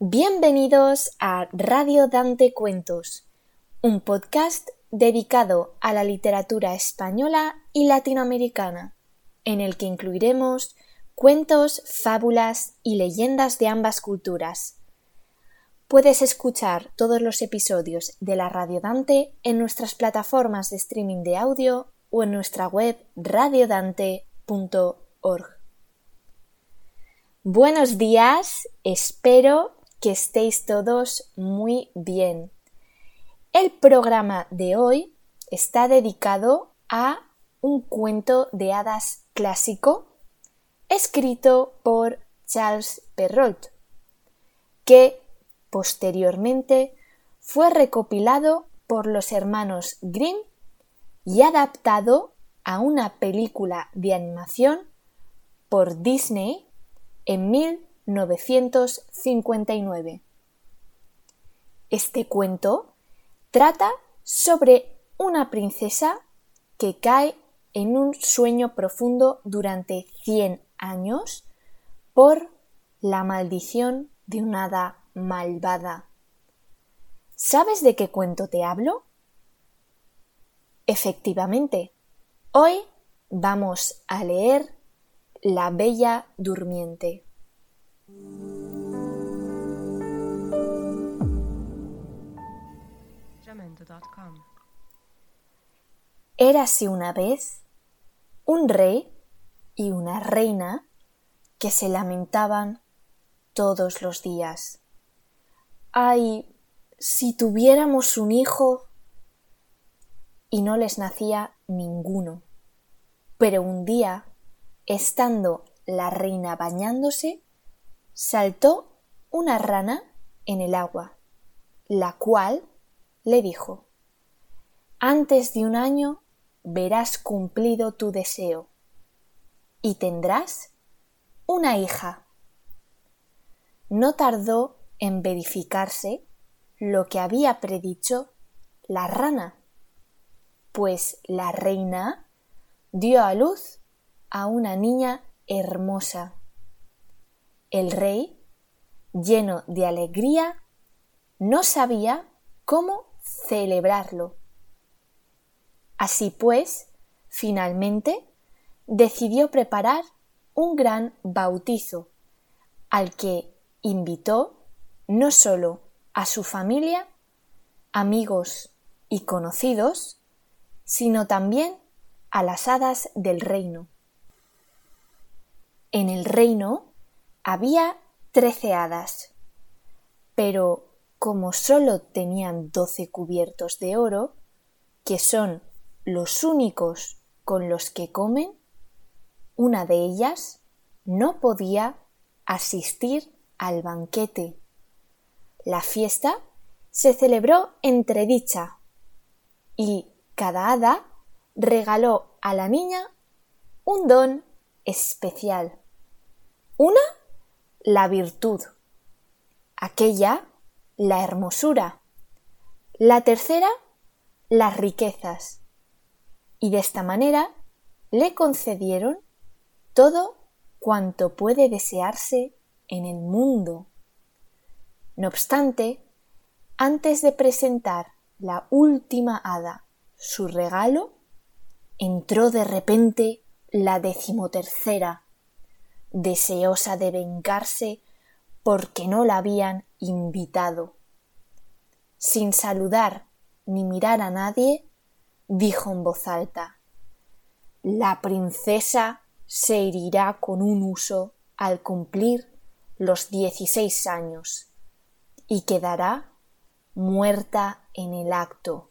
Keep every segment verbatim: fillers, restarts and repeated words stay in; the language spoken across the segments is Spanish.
Bienvenidos a Radio Dante Cuentos, un podcast dedicado a la literatura española y latinoamericana, en el que incluiremos cuentos, fábulas y leyendas de ambas culturas. Puedes escuchar todos los episodios de la Radio Dante en nuestras plataformas de streaming de audio o en nuestra web radio dante punto org. Buenos días, espero que estéis todos muy bien. El programa de hoy está dedicado a un cuento de hadas clásico escrito por Charles Perrault, que posteriormente fue recopilado por los hermanos Grimm y adaptado a una película de animación por Disney en mil novecientos cincuenta y nueve. Este cuento trata sobre una princesa que cae en un sueño profundo durante cien años por la maldición de una hada malvada. ¿Sabes de qué cuento te hablo? Efectivamente, hoy vamos a leer La Bella Durmiente. Érase una vez un rey y una reina que se lamentaban todos los días. ¡Ay, si tuviéramos un hijo! Y no les nacía ninguno. Pero un día, estando la reina bañándose, saltó una rana en el agua, la cual le dijo: «Antes de un año verás cumplido tu deseo y tendrás una hija». No tardó en verificarse lo que había predicho la rana, pues la reina dio a luz a una niña hermosa. El rey, lleno de alegría, no sabía cómo celebrarlo. Así pues, finalmente, decidió preparar un gran bautizo, al que invitó no solo a su familia, amigos y conocidos, sino también a las hadas del reino. En el reino había trece hadas, pero como sólo tenían doce cubiertos de oro, que son los únicos con los que comen, una de ellas no podía asistir al banquete. La fiesta se celebró entre dicha y cada hada regaló a la niña un don especial. Una, la virtud; aquella, la hermosura; la tercera, las riquezas. Y de esta manera le concedieron todo cuanto puede desearse en el mundo. No obstante, antes de presentar la última hada su regalo, entró de repente la decimotercera, deseosa de vengarse porque no la habían invitado. Sin saludar ni mirar a nadie, dijo en voz alta: «La princesa se herirá con un huso al cumplir los dieciséis años y quedará muerta en el acto».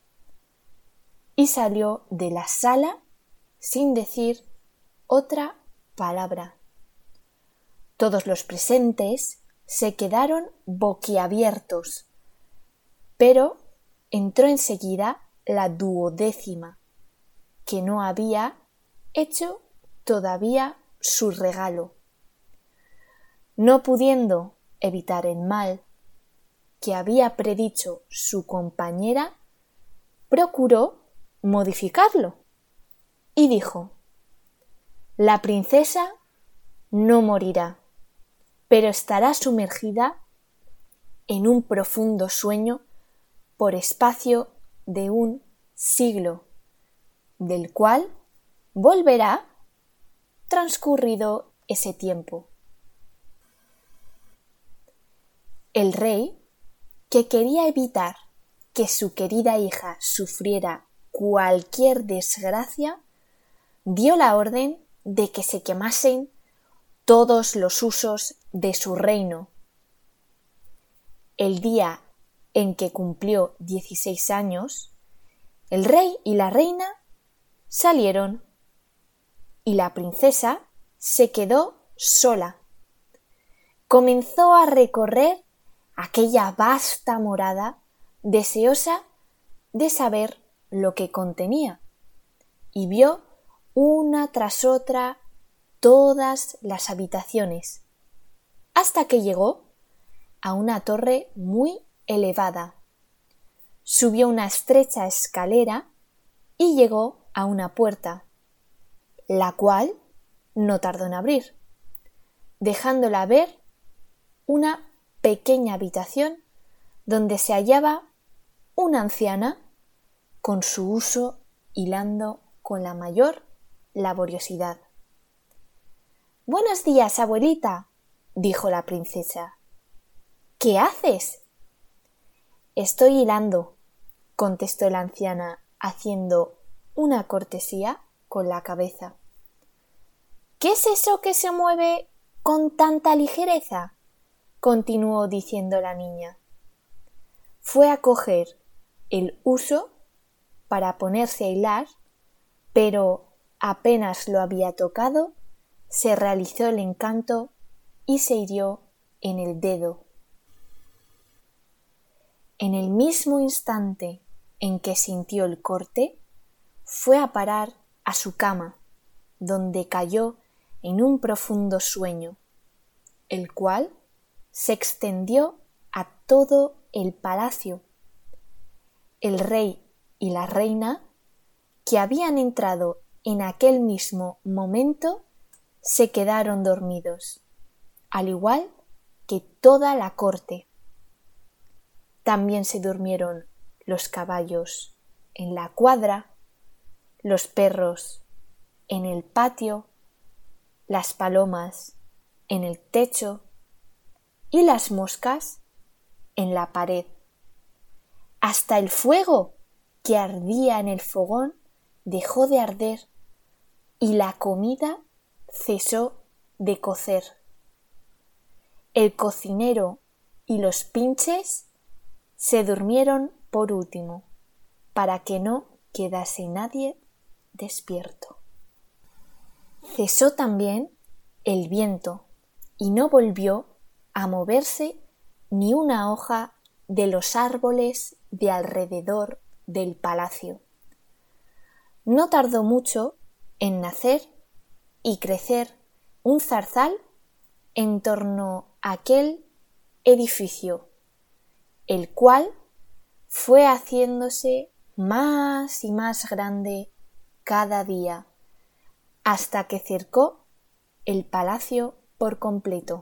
Y salió de la sala sin decir otra palabra. Todos los presentes se quedaron boquiabiertos, pero entró enseguida la duodécima, que no había hecho todavía su regalo. No pudiendo evitar el mal que había predicho su compañera, procuró modificarlo y dijo: «La princesa no morirá, pero estará sumergida en un profundo sueño por espacio de un siglo, del cual volverá transcurrido ese tiempo. El rey, que quería evitar que su querida hija sufriera cualquier desgracia, dio la orden de que se quemasen todos los usos de su reino. El día en que cumplió dieciséis años, el rey y la reina salieron y la princesa se quedó sola. Comenzó a recorrer aquella vasta morada, deseosa de saber lo que contenía, y vio una tras otra todas las habitaciones, hasta que llegó a una torre muy elevada. Subió una estrecha escalera y llegó a una puerta, la cual no tardó en abrir, dejándola ver una pequeña habitación donde se hallaba una anciana con su huso hilando con la mayor laboriosidad. «Buenos días, abuelita», dijo la princesa. «¿Qué haces?» «Estoy hilando», contestó la anciana, haciendo una cortesía con la cabeza. «¿Qué es eso que se mueve con tanta ligereza?», continuó diciendo la niña. Fue a coger el huso para ponerse a hilar, pero apenas lo había tocado, se realizó el encanto y se hirió en el dedo. En el mismo instante en que sintió el corte, fue a parar a su cama, donde cayó en un profundo sueño, el cual se extendió a todo el palacio. El rey y la reina, que habían entrado en aquel mismo momento, se quedaron dormidos, al igual que toda la corte. También se durmieron los caballos en la cuadra, los perros en el patio, las palomas en el techo y las moscas en la pared. Hasta el fuego que ardía en el fogón dejó de arder y la comida cesó de cocer. El cocinero y los pinches se durmieron por último, para que no quedase nadie despierto. Cesó también el viento y no volvió a moverse ni una hoja de los árboles de alrededor del palacio. No tardó mucho en nacer y crecer un zarzal en torno a aquel edificio, el cual fue haciéndose más y más grande cada día, hasta que cercó el palacio por completo.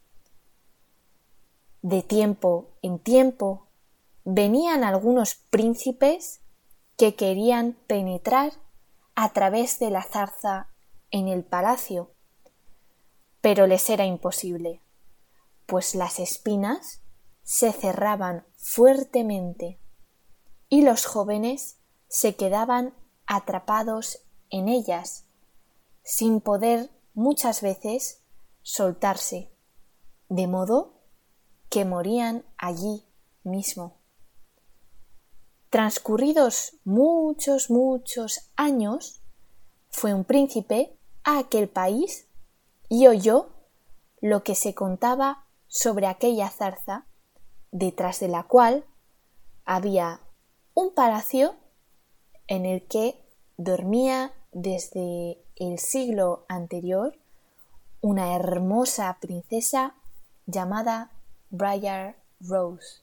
De tiempo en tiempo venían algunos príncipes que querían penetrar a través de la zarza en el palacio, pero les era imposible, pues las espinas se cerraban fuertemente y los jóvenes se quedaban atrapados en ellas, sin poder muchas veces soltarse, de modo que morían allí mismo. Transcurridos muchos, muchos años, fue un príncipe a aquel país y oyó lo que se contaba sobre aquella zarza, detrás de la cual había un palacio en el que dormía desde el siglo anterior una hermosa princesa llamada Briar Rose.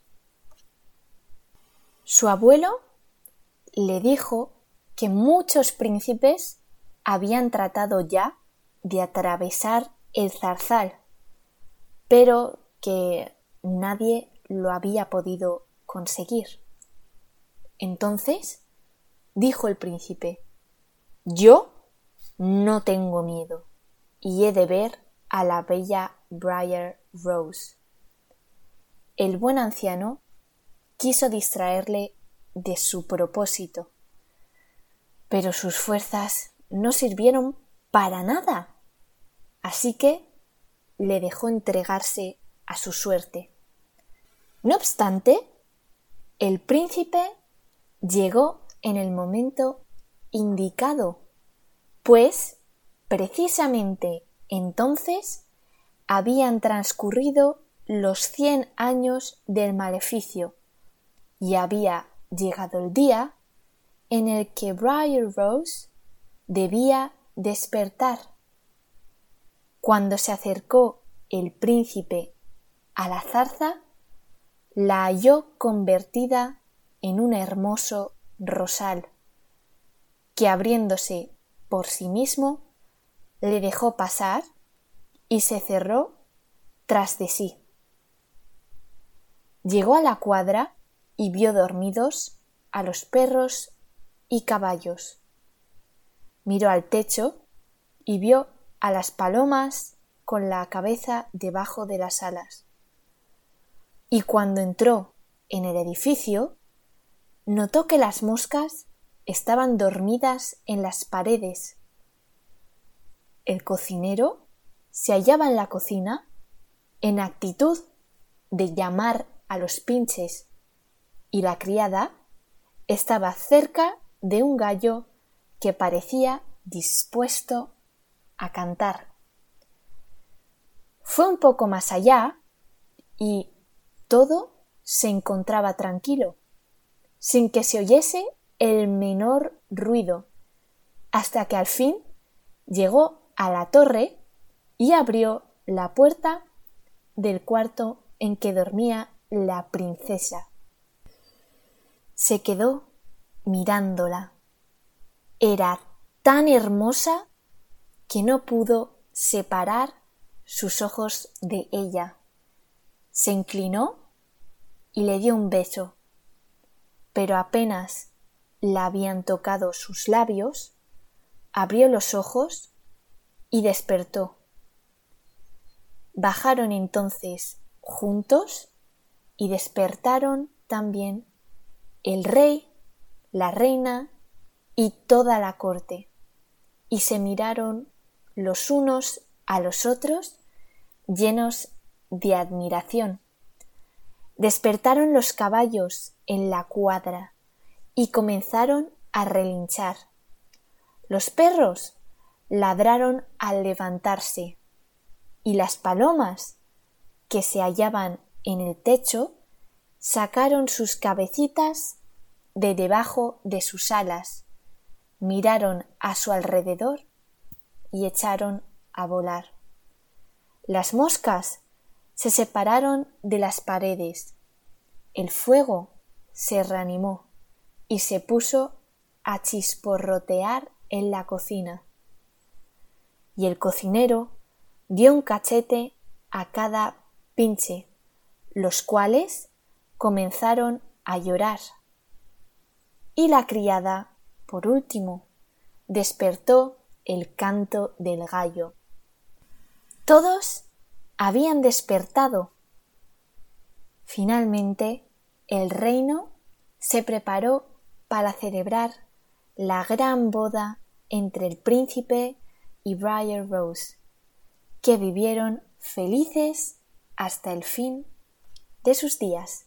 Su abuelo le dijo que muchos príncipes habían tratado ya de atravesar el zarzal, pero que nadie lo había podido conseguir. Entonces dijo el príncipe: «Yo no tengo miedo y he de ver a la bella Briar Rose». El buen anciano quiso distraerle de su propósito, pero sus fuerzas no sirvieron para nada, así que le dejó entregarse a su suerte. No obstante, el príncipe llegó en el momento indicado, pues precisamente entonces habían transcurrido los cien años del maleficio y había llegado el día en el que Briar Rose debía despertar. Cuando se acercó el príncipe a la zarza, la halló convertida en un hermoso rosal, que abriéndose por sí mismo le dejó pasar y se cerró tras de sí. Llegó a la cuadra y vio dormidos a los perros y caballos. Miró al techo y vio a las palomas con la cabeza debajo de las alas. Y cuando entró en el edificio, notó que las moscas estaban dormidas en las paredes. El cocinero se hallaba en la cocina en actitud de llamar a los pinches y la criada estaba cerca de un gallo que parecía dispuesto a cantar. Fue un poco más allá y todo se encontraba tranquilo, sin que se oyese el menor ruido, hasta que al fin llegó a la torre y abrió la puerta del cuarto en que dormía la princesa. Se quedó mirándola. Era tan hermosa que no pudo separar sus ojos de ella. Se inclinó y le dio un beso, pero apenas la habían tocado sus labios, abrió los ojos y despertó. Bajaron entonces juntos y despertaron también el rey, la reina y toda la corte, y se miraron los unos a los otros llenos de admiración. Despertaron los caballos en la cuadra y comenzaron a relinchar. Los perros ladraron al levantarse y las palomas, que se hallaban en el techo, sacaron sus cabecitas de debajo de sus alas, miraron a su alrededor y echaron a volar. Las moscas se separaron de las paredes, el fuego se reanimó y se puso a chisporrotear en la cocina, y el cocinero dio un cachete a cada pinche, los cuales comenzaron a llorar. Y la criada, por último, despertó el canto del gallo. Todos habían despertado. Finalmente, el reino se preparó para celebrar la gran boda entre el príncipe y Briar Rose, que vivieron felices hasta el fin de sus días.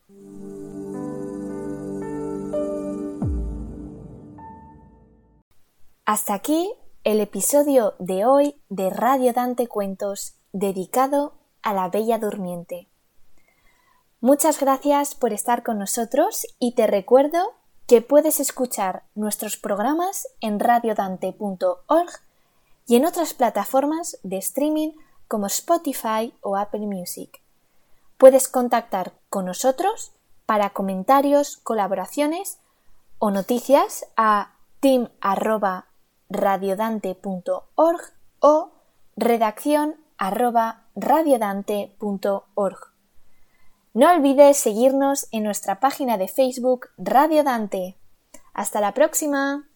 Hasta aquí el episodio de hoy de Radio Dante Cuentos dedicado a la Bella Durmiente. Muchas gracias por estar con nosotros y te recuerdo que puedes escuchar nuestros programas en radiodante punto org y en otras plataformas de streaming como Spotify o Apple Music. Puedes contactar con nosotros para comentarios, colaboraciones o noticias a team arroba radiodante punto org o redacción arroba radiodante punto org. No olvides seguirnos en nuestra página de Facebook Radio Dante. ¡Hasta la próxima!